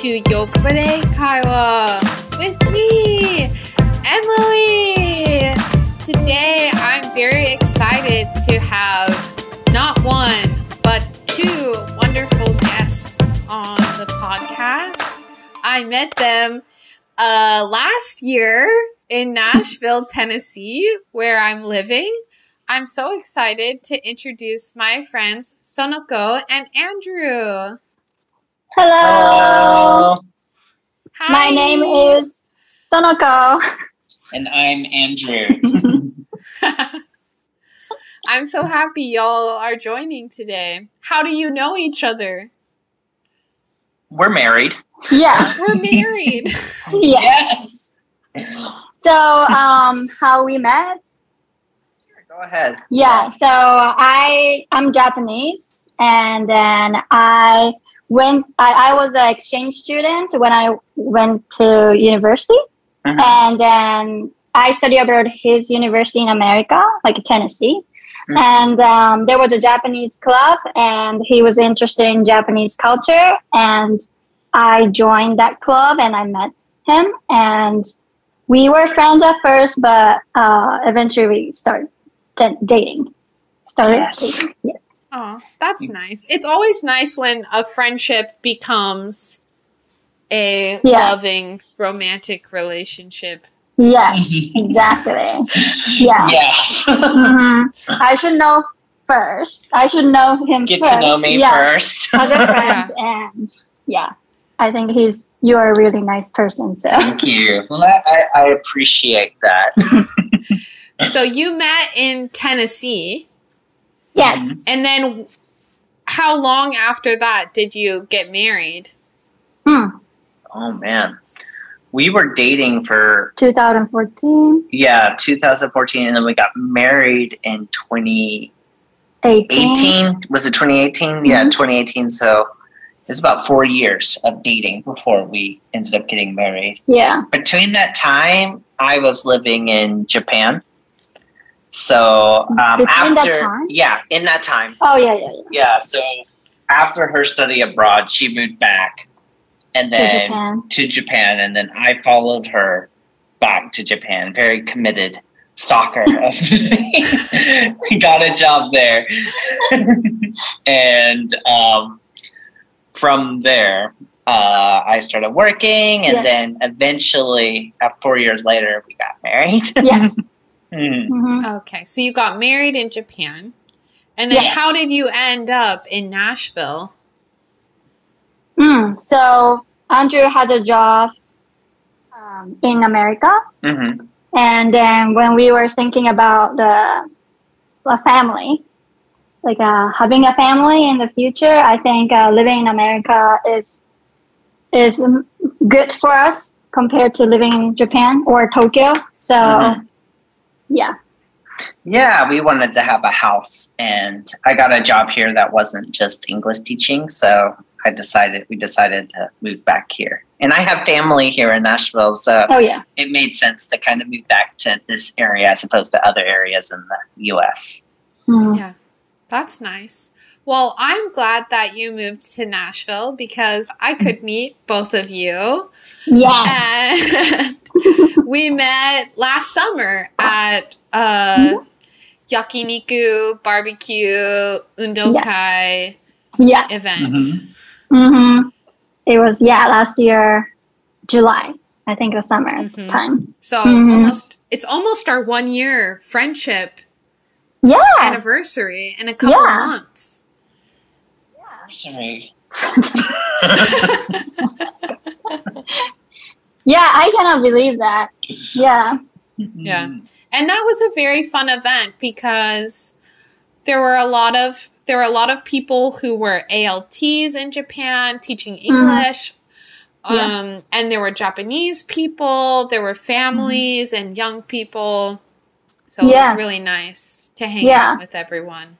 to Yokore Kaiwa with me, Emily. Today, I'm very excited to have not one, but two wonderful guests on the podcast. I met them last year in Nashville, Tennessee, where I'm living. I'm so excited to introduce my friends Sonoko and Andrew. Hello. Hi. My name is Sonoko. And I'm Andrew. I'm so happy y'all are joining today. How do you know each other? We're married. Yeah. We're married. Yes. So, how we met? Sure, go ahead. Yeah. So I'm Japanese, and then I was an exchange student when I went to university, and then I studied abroad his university in America, like Tennessee. And there was a Japanese club, and he was interested in Japanese culture, and I joined that club, and I met him, and we were friends at first, but eventually we started dating. Yes. Yes. Oh, that's nice. It's always nice when a friendship becomes a loving, romantic relationship. Yes, exactly. Yeah. Yes. I should know first. I should know him Get first. to know me first. As a friend, and I think you're a really nice person. So Thank you. Well, I appreciate that. So you met in Tennessee. Yes. And then how long after that did you get married? Oh, man. We were dating for 2014. 2014, and then we got married in 2018. 18. Was it 2018? Yeah, 2018. So it was about 4 years of dating before we ended up getting married. Yeah. Between that time, I was living in Japan. So Between after that time? in that time. Oh yeah. Yeah, so after her study abroad, she moved back and then to Japan, and then I followed her back to Japan. Very committed stalker of me. We got a job there. And from there, I started working, and then eventually, 4 years later, we got married. Yes. Okay, so you got married in Japan. And then how did you end up in Nashville? So Andrew had a job in America. And then when we were thinking about a family, like having a family in the future, I think living in America is good for us compared to living in Japan or Tokyo. So, Yeah, we wanted to have a house, and I got a job here that wasn't just English teaching, so we decided to move back here. And I have family here in Nashville, so it made sense to kind of move back to this area as opposed to other areas in the U.S. Yeah, that's nice. Well, I'm glad that you moved to Nashville because I could meet both of you. Yes. And we met last summer at Yakiniku Barbecue Undokai event. It was last year, July. I think the summer time. So it's almost our 1 year friendship anniversary in a couple of months. Sorry. I cannot believe that. Yeah. And that was a very fun event because there were a lot of people who were ALTs in Japan teaching English. And there were Japanese people, there were families and young people. So it was really nice to hang out with everyone.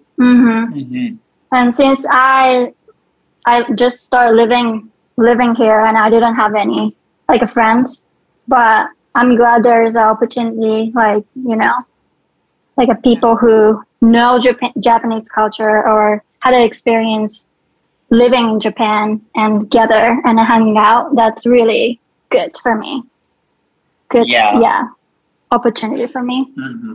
And since I just started living here, and I didn't have any friends, but I'm glad there's an opportunity, people who know Japanese culture or had an experience living in Japan and together and hanging out, that's really good for me. Good, opportunity for me.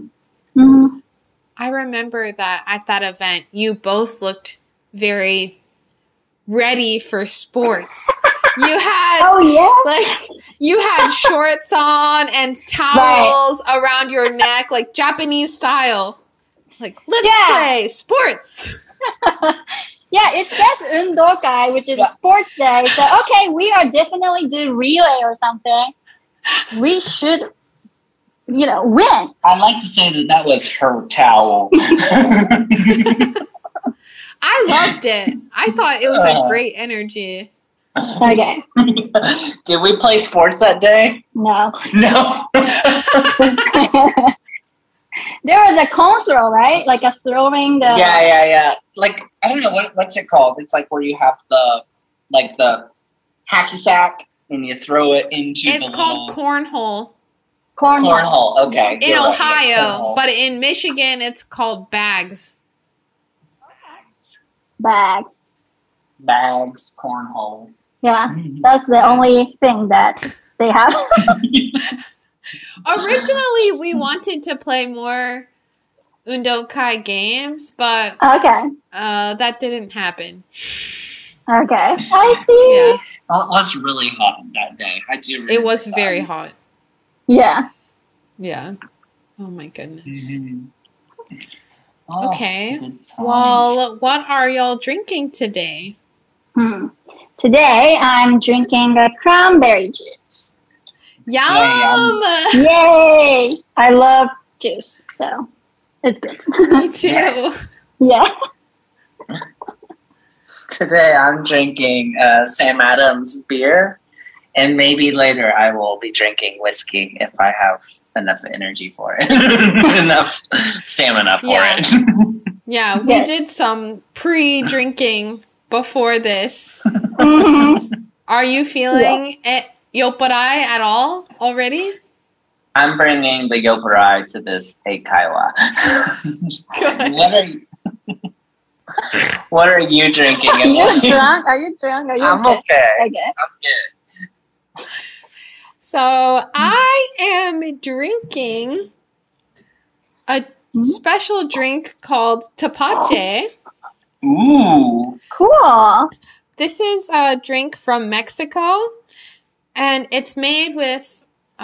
I remember that at that event, you both looked very ready for sports. You had you had shorts on and towels around your neck, like Japanese style. Like, let's play sports. It says Undokai, which is a sports day. So, okay, we are definitely do relay or something. We should, win. I like to say that was her towel. I loved it. I thought it was a great energy. Okay. Did we play sports that day? No. There was a console, right? Like a throwing the... Yeah. Like, I don't know, what's it called? It's like where you have the hacky sack and you throw it into It's called cornhole. Cornhole, okay. In Ohio, but in Michigan, it's called bags. Bags, cornhole. Yeah, that's the only thing that they have. Originally, we wanted to play more Undokai games, but that didn't happen. Okay, I see. Yeah. Well, it was really hot that day. It was very hot. Yeah. Yeah. Oh my goodness. Oh, okay. Well, what are y'all drinking today? Today, I'm drinking a cranberry juice. Yum! Yay! I love juice, so it's good. Me too. Yes. Yeah. Today, I'm drinking Sam Adams beer, and maybe later I will be drinking whiskey if I have enough energy for it, enough stamina for it. Yeah, we did some pre-drinking before this. Are you feeling Yopparai at all already? I'm bringing the Yopparai to this Eikaiwa. Good. What are you drinking? Are you drunk? Are you I'm okay. I'm good. So I am drinking a special drink called Tepache. Ooh. Cool. This is a drink from Mexico, and it's made with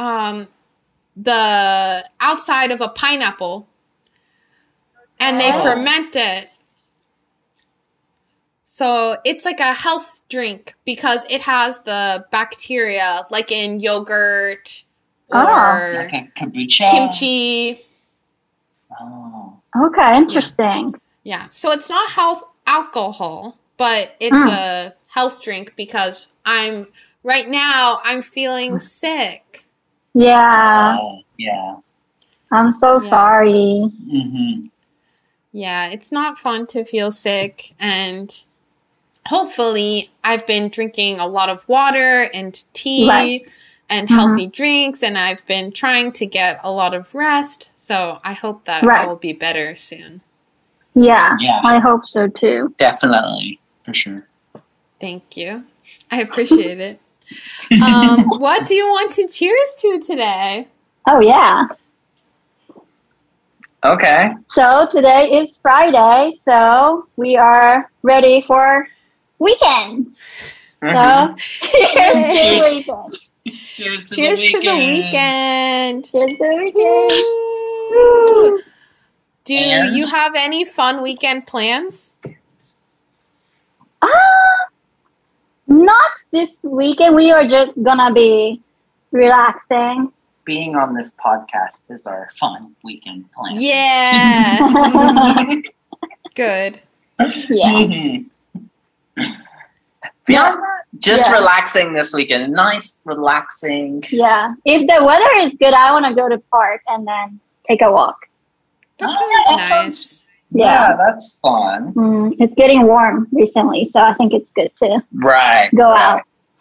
the outside of a pineapple, and they ferment it. So it's like a health drink because it has the bacteria, like in yogurt or like a kombucha, kimchi. Oh. Okay, interesting. Yeah, so it's not health alcohol, but it's a health drink because I'm feeling sick. Yeah. Yeah. I'm so sorry. Yeah, it's not fun to feel sick, and hopefully I've been drinking a lot of water and tea and healthy drinks, and I've been trying to get a lot of rest, so I hope that I will be better soon. Yeah, I hope so too. Definitely, for sure. Thank you. I appreciate it. What do you want to cheers to today? Oh, yeah. Okay. So today is Friday, so we are ready for weekends. So cheers to the weekend. Cheers to the weekend. Cheers to the weekend. Woo. Do you have any fun weekend plans? Not this weekend. We are just gonna be relaxing. Being on this podcast is our fun weekend plan. Yeah. Good. Yeah. Just relaxing this weekend. Nice, relaxing. Yeah. If the weather is good, I want to go to park and then take a walk. That sounds nice. Yeah, that's fun. It's getting warm recently, so I think it's good to go out.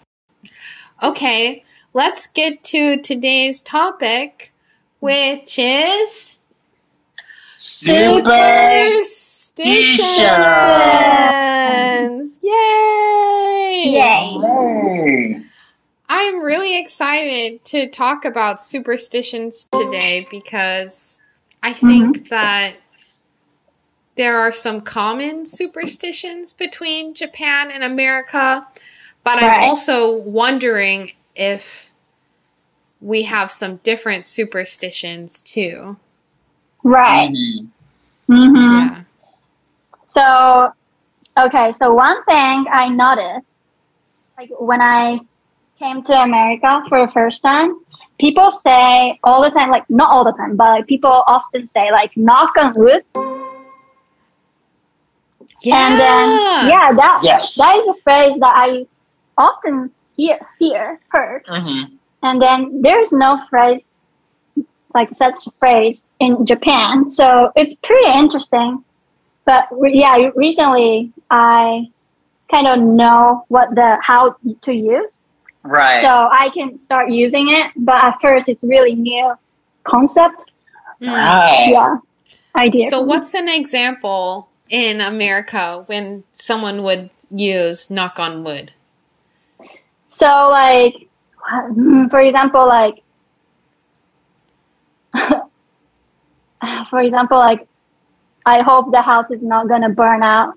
Okay, let's get to today's topic, which is Super Superstitions! Yay! Yay! I'm really excited to talk about superstitions today because I think that there are some common superstitions between Japan and America, but I'm also wondering if we have some different superstitions too. Right. Yeah. So, okay, so one thing I noticed, like when I came to America for the first time, people say all the time, like not all the time, but like, people often say like knock on wood. Yeah. And then that is a phrase that I often heard. And then there's no phrase like such a phrase in Japan, so it's pretty interesting. But yeah, recently I kind of know how to use. Right. So I can start using it, but at first it's really new concept. Right. Yeah. Idea. So what's an example in America when someone would use knock on wood? So like, for example, like, I hope the house is not gonna burn down.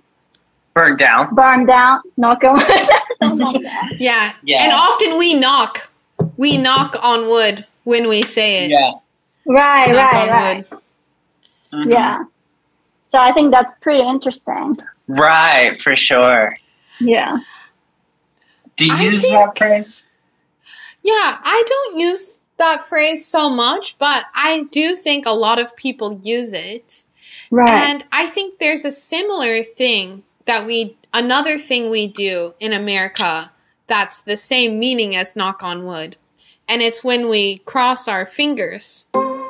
Knock on wood. Something like that. Yeah. And often we knock on wood when we say it. Yeah. Right. Yeah. So I think that's pretty interesting. Right, for sure. Yeah. Do you use that phrase? Yeah, I don't use that phrase so much, but I do think a lot of people use it. Right. And I think there's a similar thing another thing we do in America that's the same meaning as knock on wood. And it's when we cross our fingers.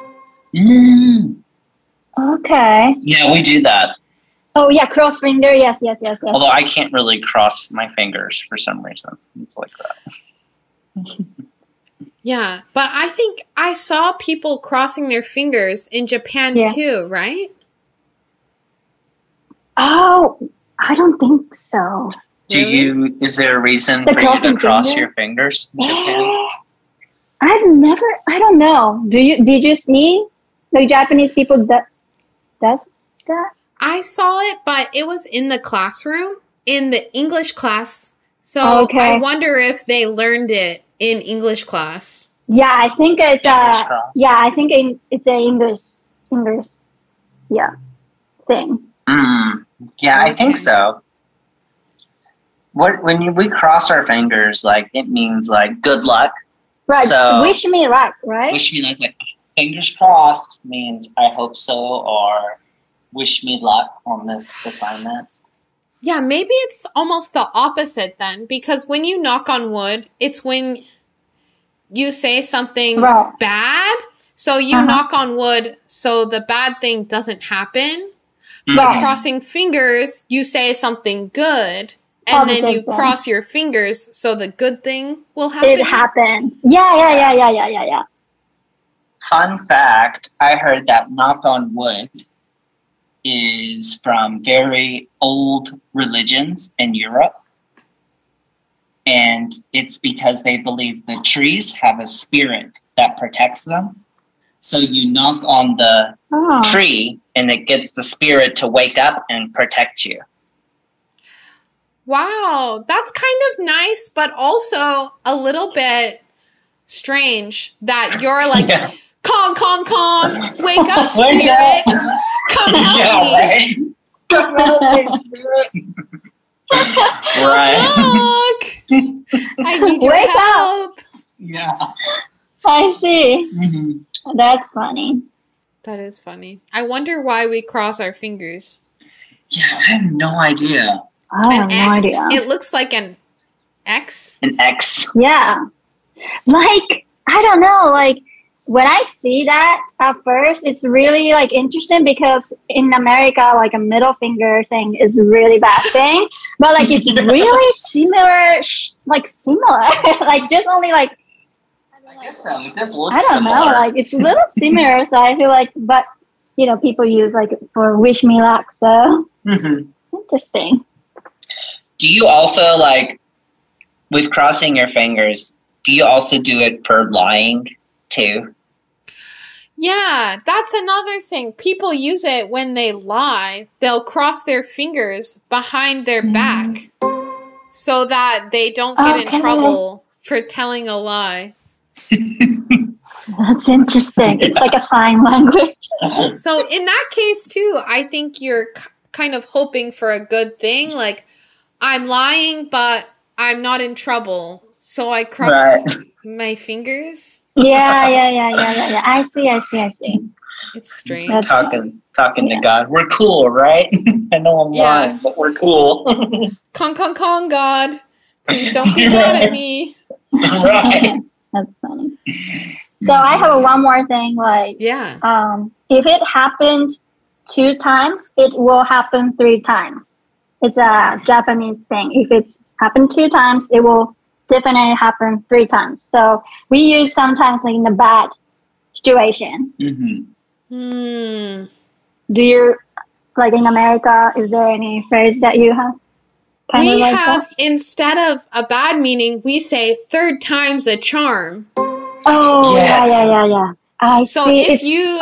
Okay. Yeah, we do that. Oh, yeah, cross finger. Yes. Although I can't really cross my fingers for some reason. It's like that. Yeah, but I think I saw people crossing their fingers in Japan too, right? Oh, I don't think so. Is there a reason for you to cross your fingers in Japan? I don't know. Did you see the Japanese people that does that? I saw it, but it was in the classroom, in the English class. So I wonder if they learned it in English class. Yeah, I think it's it's an English thing. Yeah, I think so. When we cross our fingers, like it means like good luck. Right. So, wish me luck, right? Wish me luck. Like, fingers crossed means I hope so, or wish me luck on this assignment. Yeah, maybe it's almost the opposite then, because when you knock on wood, it's when you say something bad. So you knock on wood so the bad thing doesn't happen. But crossing fingers, you say something good. And then you cross your fingers so the good thing will happen. It happened. Yeah. Fun fact, I heard that knock on wood is from very old religions in Europe. And it's because they believe the trees have a spirit that protects them. So you knock on the tree and it gets the spirit to wake up and protect you. Wow, that's kind of nice, but also a little bit strange that you're like, Kong, wake up, spirit, come help me. Right? Come help me, spirit. Right. I need your help. Yeah. I see. That's funny. That is funny. I wonder why we cross our fingers. Yeah, I have no idea. I have no idea. It looks like an X. An X. Yeah. Like, I don't know, like, when I see that at first, it's really like interesting because in America, like a middle finger thing is a really bad thing, but like it's really similar, like just only like. I guess so. It does look I don't know, like it's a little similar. So I feel like, but you know, people use like for wish me luck. So Mm-hmm. Interesting. Do you also, like, with crossing your fingers, do you also do it for lying too? Yeah, that's another thing. People use it when they lie. They'll cross their fingers behind their back so that they don't get in trouble for telling a lie. That's interesting. It's like a sign language. So in that case too, I think you're kind of hoping for a good thing. Like, I'm lying, but I'm not in trouble. So I cross my fingers. Yeah. I see. It's strange. Talking to God. We're cool, right? I know I'm lying, but we're cool. Kong, God. Please don't be mad at me. Right. That's funny. So I have one more thing. Like, if it happened 2 times, it will happen 3 times. It's a Japanese thing. If it's happened 2 times, it will definitely happen 3 times. So we use sometimes like in the bad situations. Mm-hmm. Do you, like in America, is there any phrase that you have? We have, instead of a bad meaning, we say 3rd time's a charm. Oh, yeah. So if you,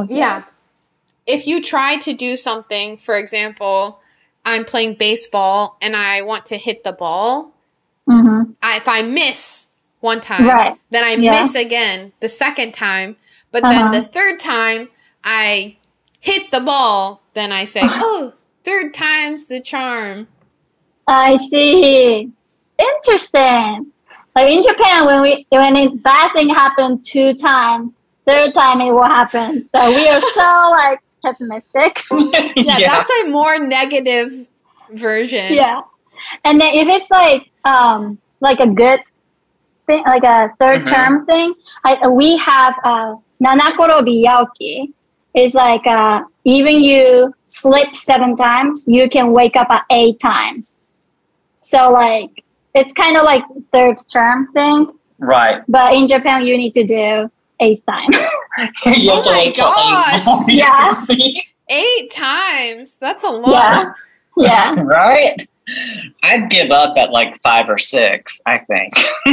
if you try to do something, for example, I'm playing baseball and I want to hit the ball. If I miss one time, then I miss again the 2nd time. But then the 3rd time I hit the ball, then I say, 3rd time's the charm. I see. Interesting. Like in Japan, when a bad thing happened 2 times, 3rd time it will happen. So we are so like pessimistic. That's a more negative version. Yeah. And then if it's like a good thing, like a 3rd term thing, we have nanakorobi yaoki. It's like even you sleep 7 times, you can wake up at 8 times. So like it's kind of like 3rd term thing. Right. But in Japan, you need to do 8 times. Oh my gosh. Yeah. 8 times. That's a lot. Yeah. Right? I'd give up at like 5 or 6, I think.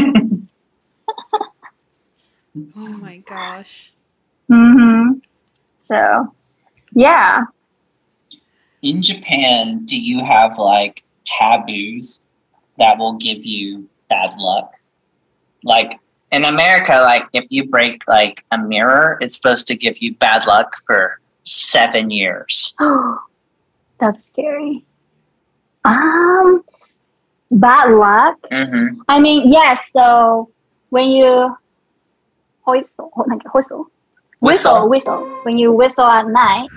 Oh my gosh. So, yeah. In Japan, do you have like taboos that will give you bad luck? Like in America, like if you break like a mirror, it's supposed to give you bad luck for 7 years. Oh, that's scary. Bad luck? I mean, yes, so when you whistle, when you whistle at night,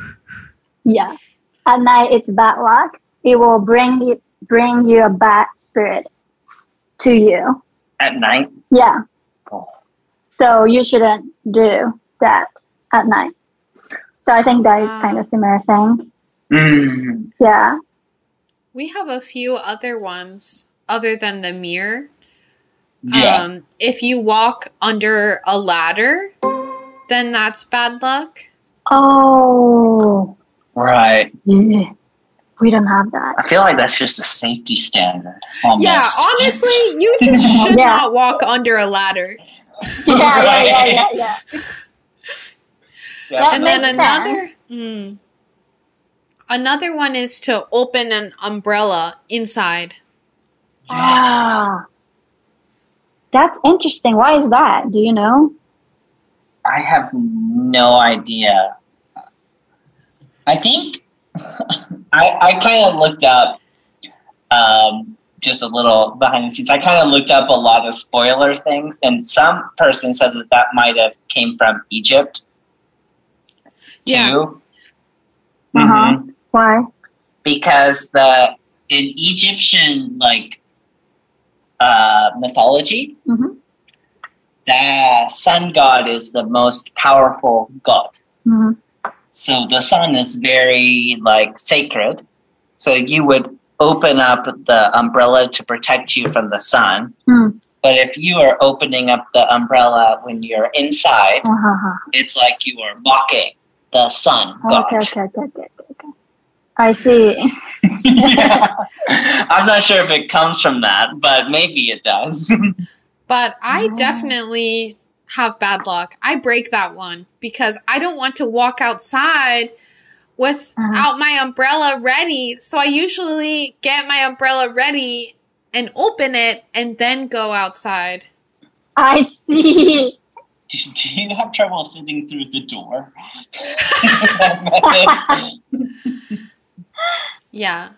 at night it's bad luck. It will bring you a bad spirit to you. At night? Yeah. Oh. So you shouldn't do that at night. So I think that is kind of similar thing. Yeah. We have a few other ones other than the mirror. Yeah. If you walk under a ladder, then that's bad luck. Oh. Right. Yeah. We don't have that. I feel like that's just a safety standard. Almost. Yeah, honestly, you just should not walk under a ladder. Yeah. And then another one is to open an umbrella inside. That's interesting. Why is that? Do you know? I have no idea. I think I kind of looked up just a little behind the scenes. I kind of looked up a lot of spoiler things, and some person said that might have came from Egypt too. Why? Because in Egyptian mythology, the sun god is the most powerful god. So the sun is very sacred. So you would open up the umbrella to protect you from the sun. But if you are opening up the umbrella when you're inside, it's like you are mocking the sun god. Okay. I see. Yeah. I'm not sure if it comes from that, but maybe it does. But I definitely have bad luck. I break that one because I don't want to walk outside without my umbrella ready. So I usually get my umbrella ready and open it and then go outside. I see. Do you have trouble fitting through the door? Yeah.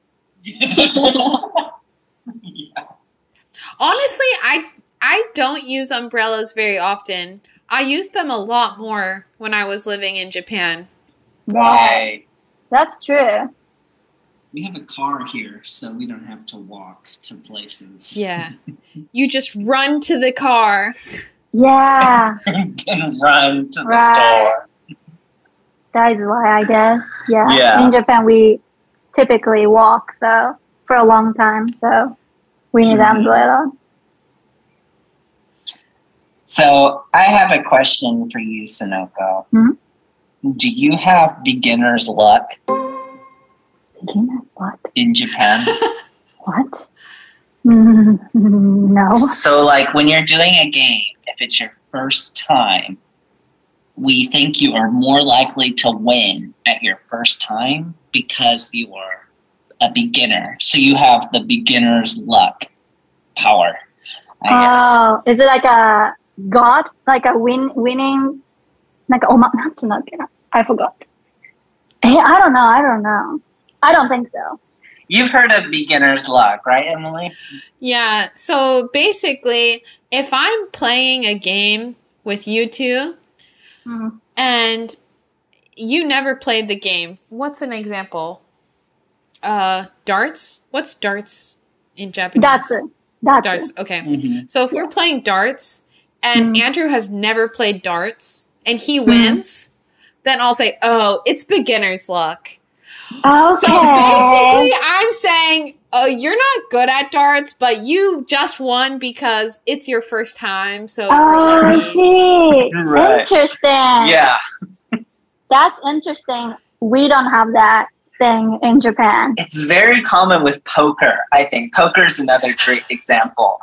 Yeah. Honestly, I don't use umbrellas very often. I used them a lot more when I was living in Japan. Right. That's true. We have a car here, so we don't have to walk to places. Yeah. You just run to the car. Yeah. And run to the store. That is why, I guess. Yeah. Yeah. In Japan, we typically walk for a long time, so we need an umbrella. So I have a question for you, Sonoko. Mm-hmm. Do you have beginner's luck? Beginner's luck? In Japan? What? No. So like when you're doing a game, if it's your first time, we think you are more likely to win at your first time because you are a beginner. So you have the beginner's luck power, I guess. Oh, is it like a god? Like a winning? Like I forgot. I don't know. I don't think so. You've heard of beginner's luck, right, Emily? Yeah, so basically, if I'm playing a game with you two, and you never played the game, what's an example? Darts? What's darts in Japanese? Darts. Okay. Mm-hmm. So if we're playing darts, and Andrew has never played darts, and he wins, then I'll say, oh, it's beginner's luck. Okay. So basically, I'm saying, oh, you're not good at darts, but you just won because it's your first time. So I see. Right. Interesting. Yeah. That's interesting. We don't have that thing in Japan. It's very common with poker, I think. Poker is another great example.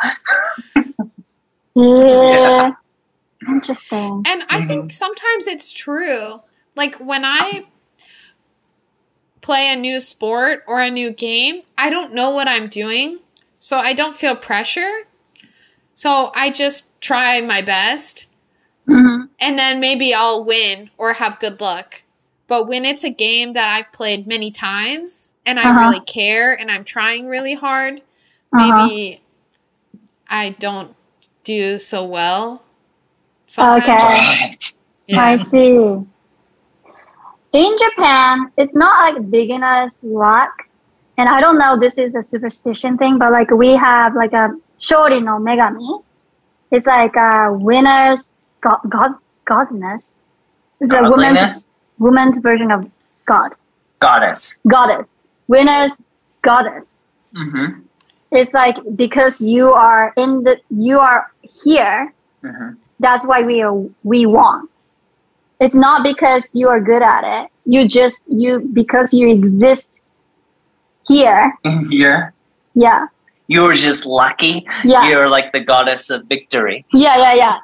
Yeah. Interesting. And I think sometimes it's true. Like when I play a new sport or a new game, I don't know what I'm doing, so I don't feel pressure. So I just try my best, and then maybe I'll win or have good luck. But when it's a game that I've played many times, and I really care, and I'm trying really hard, maybe I don't do so well sometimes. Okay. Right. Yeah. I see. In Japan, it's not like beginner's luck. And I don't know, this is a superstition thing, but like we have like a Shori no Megami. It's like a winner's godness. It's a woman's version of God. Goddess. Winner's goddess. Mm-hmm. It's like because you are here, that's why we won. It's not because you are good at it. Because you exist here. Here? Yeah. You were just lucky? Yeah. You were like the goddess of victory. Yeah.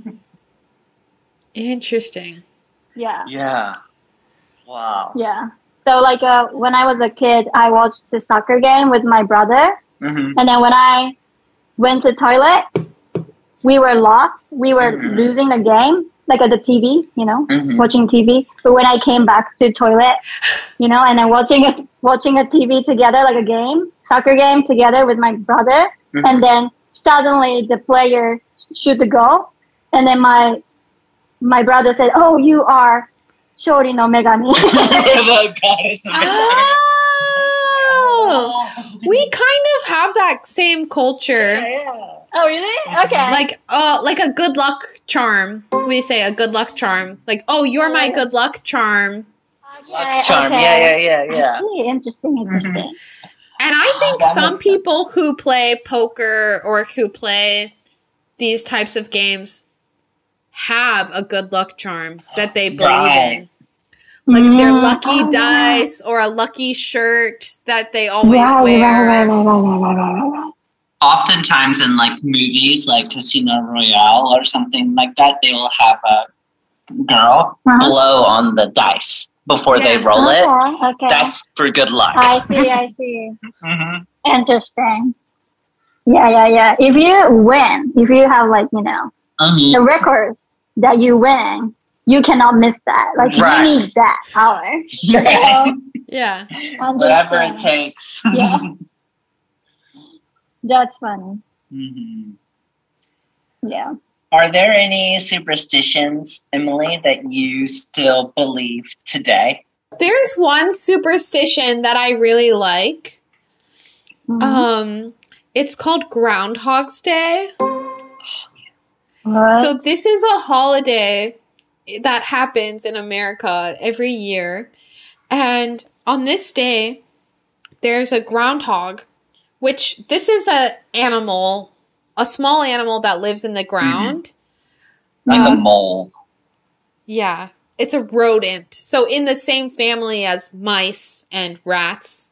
Interesting. Yeah. Yeah. Wow. Yeah. So like when I was a kid, I watched the soccer game with my brother. And then when I went to toilet, we were lost. We were losing the game. Like at the TV, watching TV. But when I came back to toilet, and then watching a TV together, like a soccer game together with my brother, and then suddenly the player shoot the goal, and then my brother said, "Oh, you are Shori no Megami." The goddess of victory. Oh, we kind of have that same culture. Yeah. Oh, really? Okay. Like a good luck charm. We say a good luck charm. Like, oh, you're my good luck charm. Luck charm. Okay. Yeah. I see. Interesting. And I think some people who play poker or who play these types of games have a good luck charm that they believe in. like their lucky dice or a lucky shirt that they always wear. Right. Oftentimes in like movies like Casino Royale or something like that, they will have a girl blow on the dice before they roll it. Okay. That's for good luck. I see. Interesting. Yeah. If you win, if you have like, the records that you win, you cannot miss that. Like you need that power. So, yeah. Whatever it takes. Yeah. That's funny. Yeah. Are there any superstitions, Emily, that you still believe today? There's one superstition that I really like. It's called Groundhog's Day. What? So this is a holiday that happens in America every year. And on this day, there's a groundhog, which this is a small animal that lives in the ground. Like a mole. Yeah. It's a rodent. So in the same family as mice and rats.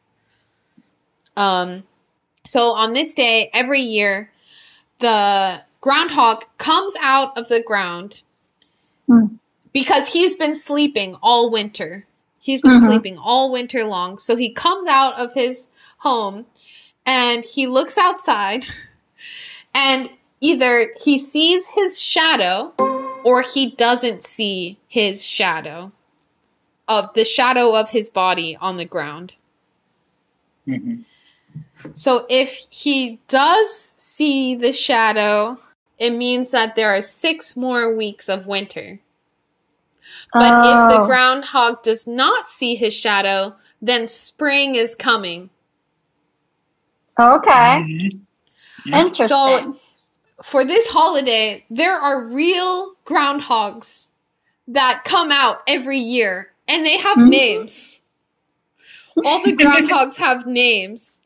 So on this day, every year, the groundhog comes out of the ground because he's been sleeping all winter. He's been sleeping all winter long. So he comes out of his home and he looks outside and either he sees his shadow or he doesn't see his shadow of his body on the ground. So if he does see the shadow, it means that there are 6 more weeks of winter. But if the groundhog does not see his shadow, then spring is coming. Okay. Interesting. So for this holiday, there are real groundhogs that come out every year, and they have names. All the groundhogs have names.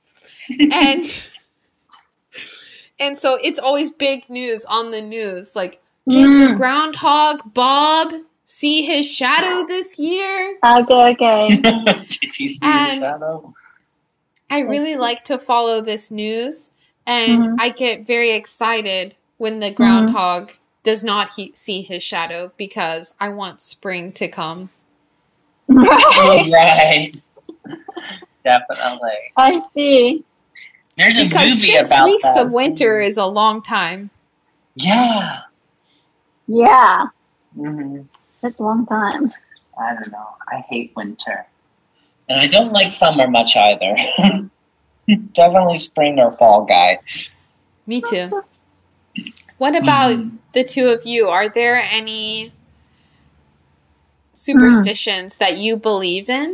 And so it's always big news on the news. Like, did the groundhog Bob see his shadow this year? Okay. Did you see his shadow? I really like to follow this news, and I get very excited when the groundhog does not see his shadow because I want spring to come. Right. Definitely. I see. There's a because movie 6 about weeks that. of winter is a long time. Yeah. That's a long time. I don't know. I hate winter. And I don't like summer much either. Definitely spring or fall guy. Me too. What about the two of you? Are there any superstitions that you believe in?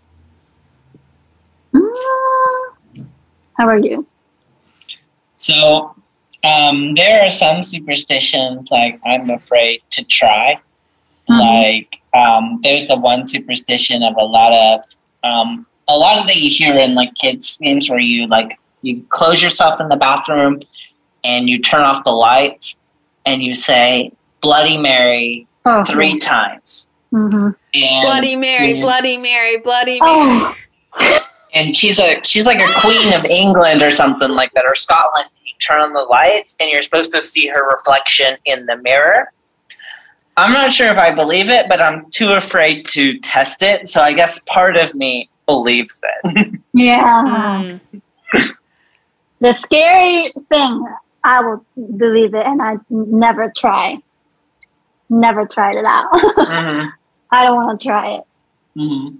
How are you? So, there are some superstitions like I'm afraid to try. Like, there's the one superstition of a lot of that you hear in like kids games where you close yourself in the bathroom and you turn off the lights and you say Bloody Mary 3 times. And, Bloody Mary, Bloody Mary, Bloody Mary. And she's like a queen of England or something like that, or Scotland. You turn on the lights and you're supposed to see her reflection in the mirror. I'm not sure if I believe it, but I'm too afraid to test it. So I guess part of me believes it. Yeah. The scary thing, I will believe it, and I never tried it out. I don't want to try it.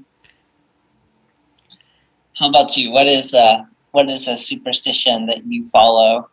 How about you? What is a superstition that you follow?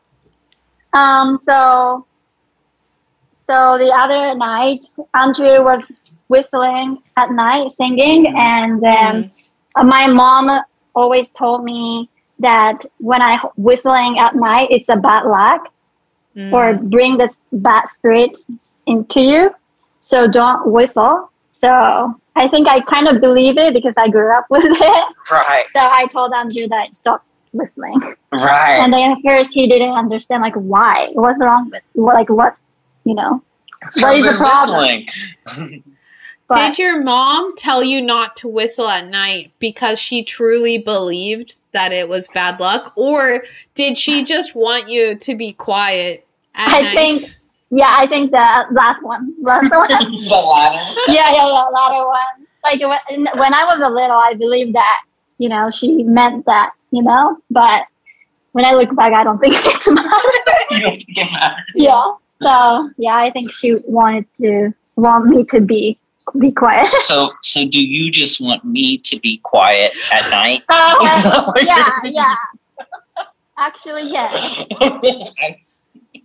So the other night, Andrew was whistling at night, singing, and my mom always told me that when I whistling at night, it's a bad luck or bring this bad spirit into you. So don't whistle. So I think I kind of believe it because I grew up with it. Right. So I told Andrew that stop whistling. Right. And then at first he didn't understand why. What's wrong with what's what is the problem? Whistling. Did your mom tell you not to whistle at night because she truly believed that it was bad luck? Or did she just want you to be quiet at night? I think the last one. The latter? Yeah, latter one. Like when I was a little, I believed that, she meant that, but when I look back, I don't think it's matter. You don't think it matters? Yeah. So, I think she want me to be quiet. So do you just want me to be quiet at night? Yeah. Actually, yes. I see.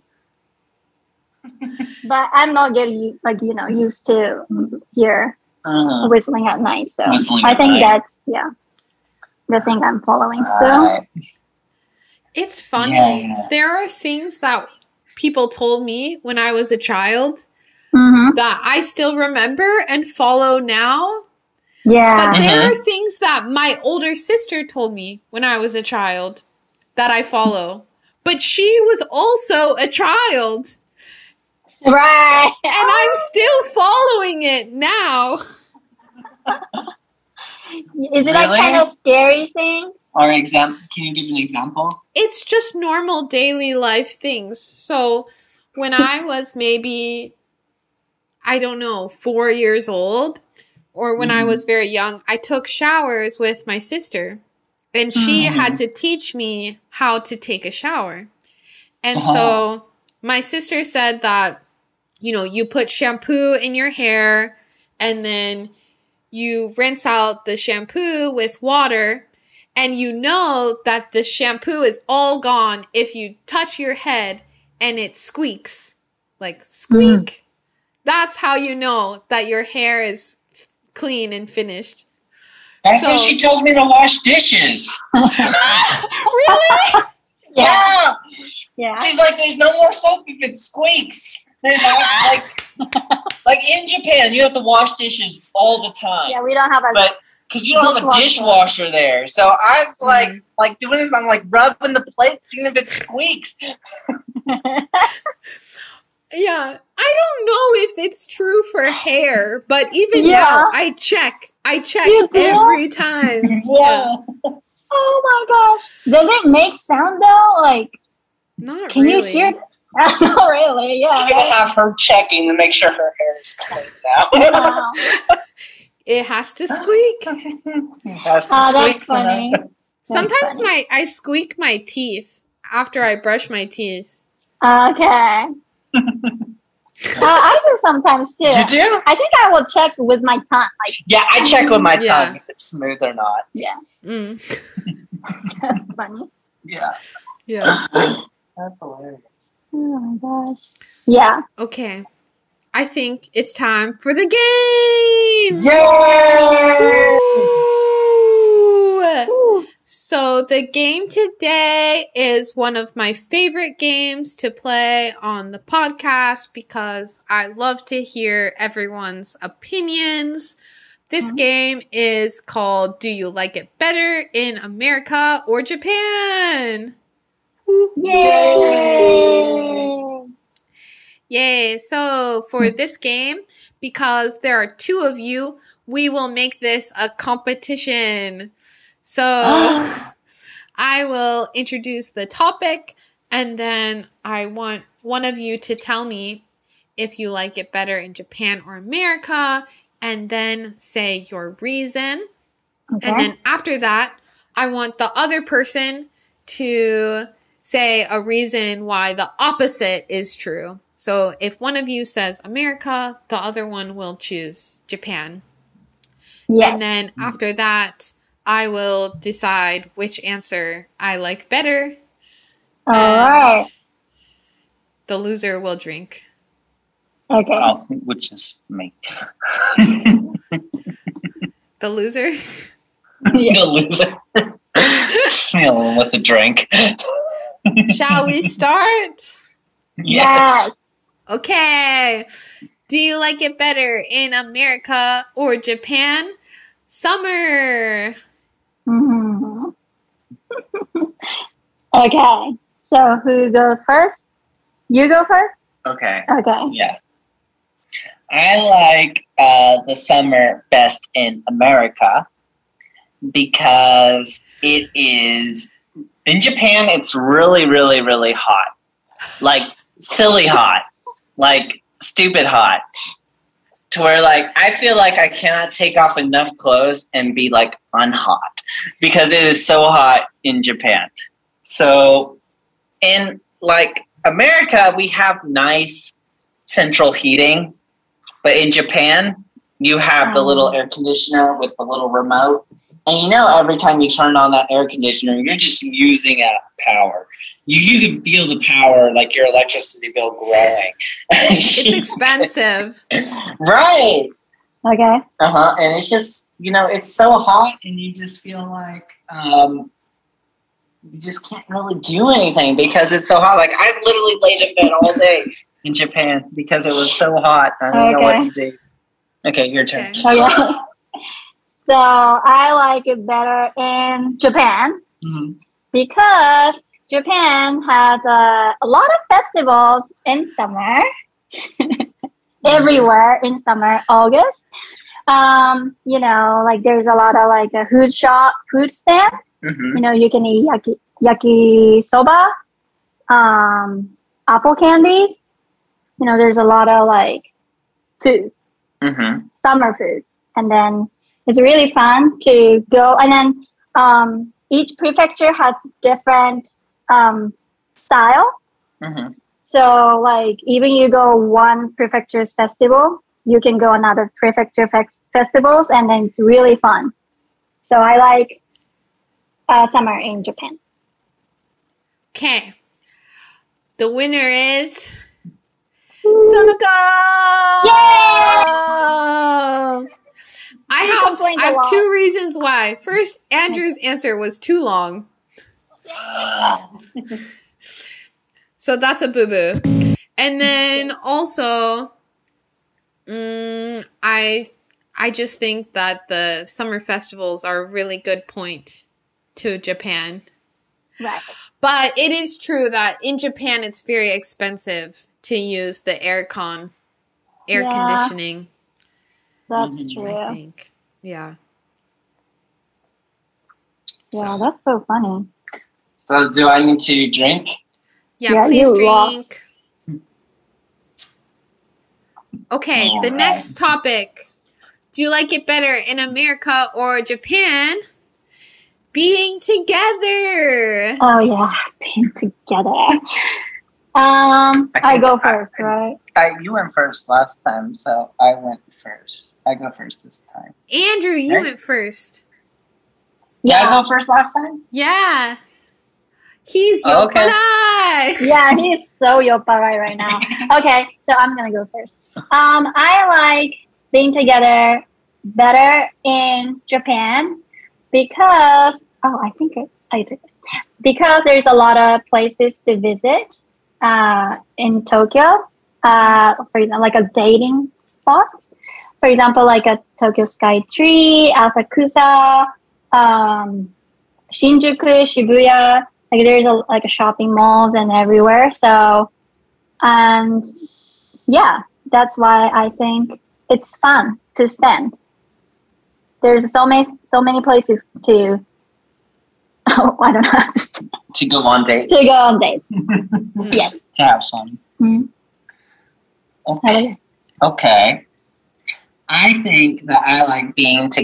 But I'm not getting used to hear whistling at night. So I think that's the thing I'm following still. It's funny. Yeah. There are things that people told me when I was a child that I still remember and follow now. Yeah. But there are things that my older sister told me when I was a child that I follow. But she was also a child. Right. And I'm still following it now. Is it like kind of scary thing? Or can you give an example? It's just normal daily life things. So when I was maybe, 4 years old, or when I was very young, I took showers with my sister. And she had to teach me how to take a shower. And so my sister said that, you put shampoo in your hair and then you rinse out the shampoo with water. And you know that the shampoo is all gone if you touch your head and it squeaks. Like, squeak. That's how you know that your hair is clean and finished. That's why she tells me to wash dishes. Really? Yeah. She's like, there's no more soap if it squeaks. Like in Japan, you have to wash dishes all the time. Yeah, we don't have because you don't have a dishwasher there. So I was like doing this, I'm like rubbing the plate, seeing if it squeaks. Yeah, I don't know if it's true for hair, but even now, I check every time. Yeah. Oh my gosh. Does it make sound though? Like, not can really. You hear? Not really, yeah. You're going to have her checking to make sure her hair is clean now. Wow. It has to squeak. That's funny. Sometimes I squeak my teeth after I brush my teeth. Okay. I do sometimes too. You do? I think I will check with my tongue. I check with my tongue if it's smooth or not. Yeah. That's funny. Yeah. That's hilarious. Oh my gosh. Yeah. Okay. I think it's time for the game! Yay! Woo! So the game today is one of my favorite games to play on the podcast because I love to hear everyone's opinions. This game is called Do You Like It Better in America or Japan? Yay! Yay! So for this game, because there are two of you, we will make this a competition. So I will introduce the topic and then I want one of you to tell me if you like it better in Japan or America and then say your reason. Okay. And then after that, I want the other person to say a reason why the opposite is true. So if one of you says America, the other one will choose Japan. Yes. And then after that, I will decide which answer I like better. All right. The loser will drink. Okay. Which is me. The loser? The loser. With a drink. Shall we start? Yes. Okay. Do you like it better in America or Japan? Summer. Mm-hmm. Okay. So who goes first? You go first? Okay. Okay. Yeah. I like the summer best in America because it is, in Japan, it's really, really, really hot. Like, silly hot. Like, stupid hot. To where, like, I feel like I cannot take off enough clothes and be, like, unhot. Because it is so hot in Japan. So, in, like, America, we have nice central heating. But in Japan, you have the little air conditioner with the little remote. And you know, every time you turn on that air conditioner, you're just using power. You can feel the power, like your electricity bill growing. It's expensive. Right. Okay. And it's just, you know, it's so hot and you just feel like you just can't really do anything because it's so hot. Like, I literally laid in bed all day in Japan because it was so hot. I didn't know what to do. Okay, your turn. Okay. So I like it better in Japan because Japan has a lot of festivals in summer. Everywhere in summer, August. You know, like there's a lot of like a food stands. You know, you can eat yakisoba, apple candies. You know, there's a lot of like foods, summer foods, and then it's really fun to go. And then each prefecture has different style. So, like, even you go one prefecture's festival, you can go another prefecture festivals, and then it's really fun. So I like summer in Japan. Okay. The winner is Sonoko! Yay! I have two reasons why. First, Andrew's answer was too long. So that's a boo-boo. And then also, I just think that the summer festivals are a really good point to Japan. Right. But it is true that in Japan it's very expensive to use the air conditioning. That's true. I think. Yeah. Yeah, that's so funny. So do I need to drink? Yeah, please drink. Okay, the next topic. Do you like it better in America or Japan? Being together. Oh yeah, being together. I go first, right? You went first last time, so I went first. I go first this time. Andrew, you went first. Did I go first last time? Yeah. He's yopparai. Yeah, he's so yopparai right now. Okay, so I'm gonna go first. I like being together better in Japan because I think I did. Because there's a lot of places to visit in Tokyo. For example, like a dating spot. For example, like a Tokyo Sky Tree, Asakusa, Shinjuku, Shibuya. Like there's a shopping malls and everywhere. So, and yeah, that's why I think it's fun to spend. There's so many places to. I don't know. To go on dates. To go on dates. Yes. To have fun. Okay. Okay. I think that I like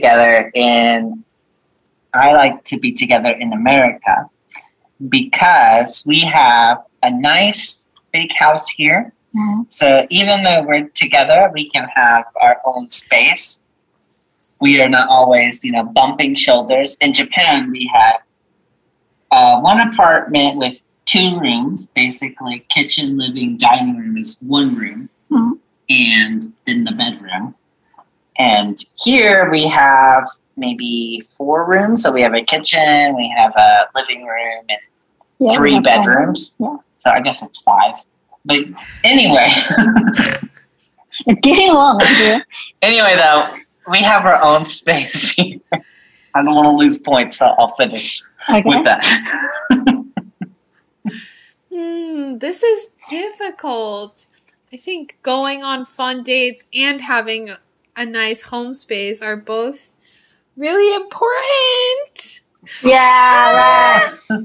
to be together in America because we have a nice big house here. So even though we're together, we can have our own space. We are not always, bumping shoulders. In Japan, we have one apartment with 2 rooms, basically kitchen, living, dining room is 1 room, and then the bedroom. And here we have maybe 4 rooms. So we have a kitchen, we have a living room, and 3 bedrooms. Yeah. So I guess it's 5. But anyway. It's getting long. Anyway, though, we have our own space here. I don't want to lose points, so I'll finish with that. This is difficult. I think going on fun dates and having a nice home space are both really important. Yeah, right.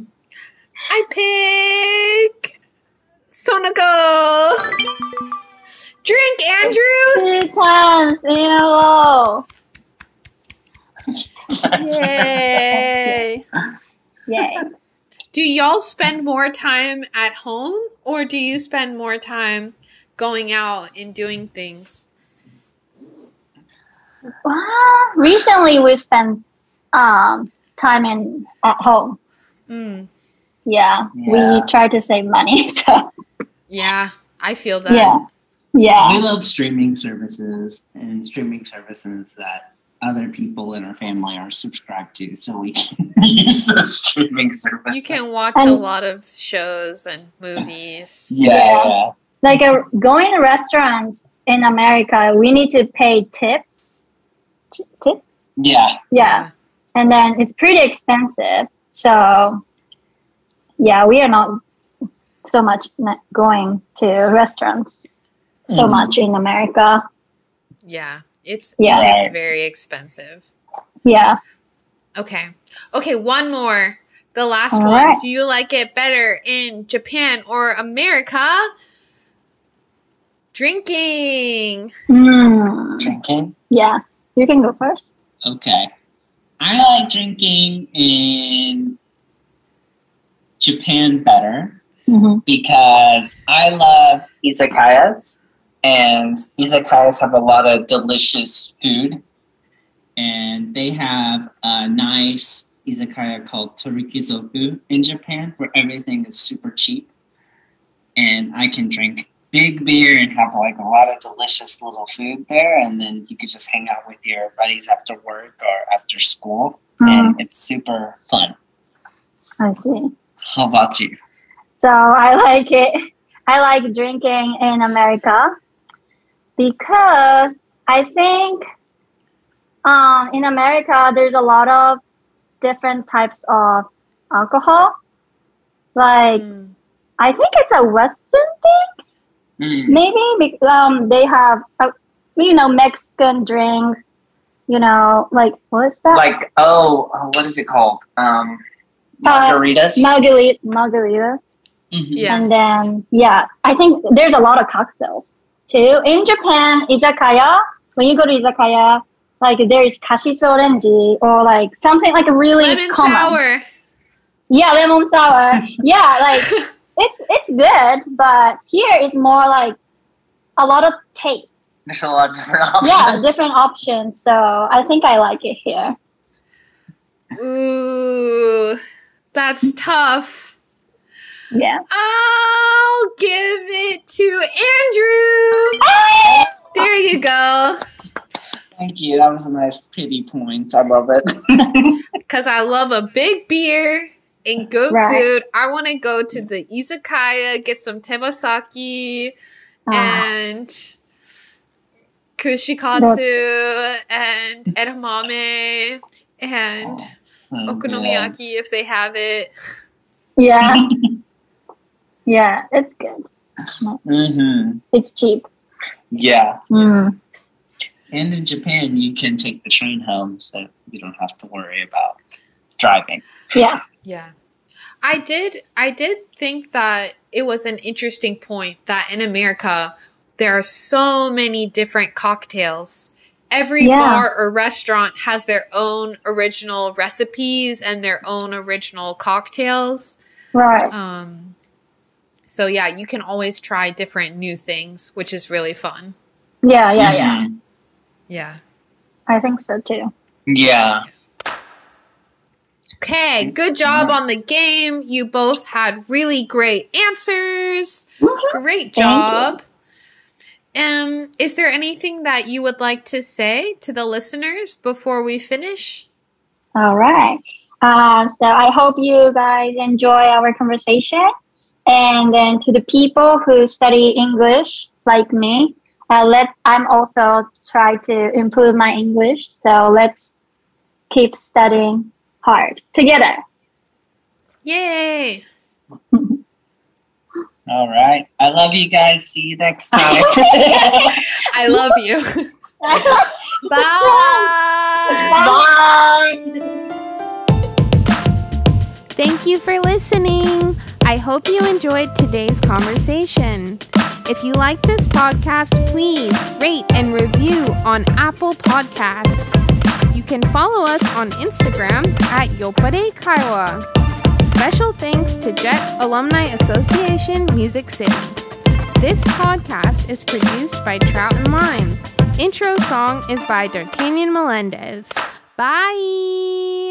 I pick Sonoko. Drink, Andrew. 3 times in a row. Yay. Yay. Do y'all spend more time at home or do you spend more time going out and doing things? Recently, we spent time at home. Yeah, we try to save money. So. Yeah, I feel that. Yeah. I love streaming services that other people in our family are subscribed to, so we can use those streaming services. You can watch a lot of shows and movies. Yeah. Like going to restaurants in America, we need to pay tips. Yeah. And then it's pretty expensive. So, yeah, we are not so much going to restaurants so much in America. Yeah, it's very expensive. Yeah. Okay, one more. The last one. Right. Do you like it better in Japan or America? Drinking. Drinking? Yeah. You can go first. Okay. I like drinking in Japan better because I love izakayas, and izakayas have a lot of delicious food, and they have a nice izakaya called Torikizoku in Japan where everything is super cheap, and I can drink big beer and have like a lot of delicious little food there, and then you could just hang out with your buddies after work or after school, and it's super fun. I see. How about you? So I like it. I like drinking in America because I think in America there's a lot of different types of alcohol. Like I think it's a Western thing. Maybe they have, Mexican drinks, like, what is that? Like, what is it called? Margaritas? Margaritas. Yeah. And then, I think there's a lot of cocktails, too. In Japan, izakaya, when you go to izakaya, like, there is kashiso orange or, like, something like a really lemon common. Sour. Yeah, lemon sour. Yeah, like... It's good, but here is more like a lot of taste. There's a lot of different options. Yeah, different options. So I think I like it here. Ooh, that's tough. Yeah. I'll give it to Andrew. There you go. Thank you. That was a nice pity point. I love it. Because I love a big beer. And good food. I want to go to the izakaya, get some tebasaki and kushikatsu and edamame and okonomiyaki if they have it. Yeah. Yeah, it's good. It's cheap. Yeah. And in Japan, you can take the train home, so you don't have to worry about driving. Yeah. Yeah. I did think that it was an interesting point that in America there are so many different cocktails. Every bar or restaurant has their own original recipes and their own original cocktails. Right. So yeah, you can always try different new things, which is really fun. Yeah. Yeah. I think so too. Yeah. Okay, good job on the game. You both had really great answers. Great job. Is there anything that you would like to say to the listeners before we finish? All right. So I hope you guys enjoy our conversation. And then to the people who study English like me, I'm also try to improve my English. So let's keep studying hard together. Yay! All right. I love you guys. See you next time. I love you. Bye. Bye. Thank you for listening. I hope you enjoyed today's conversation. If you like this podcast, please rate and review on Apple Podcasts. You can follow us on Instagram at Yopare Kaiwa. Special thanks to Jet Alumni Association Music City. This podcast is produced by Trout and Lime. Intro song is by D'Artagnan Melendez. Bye!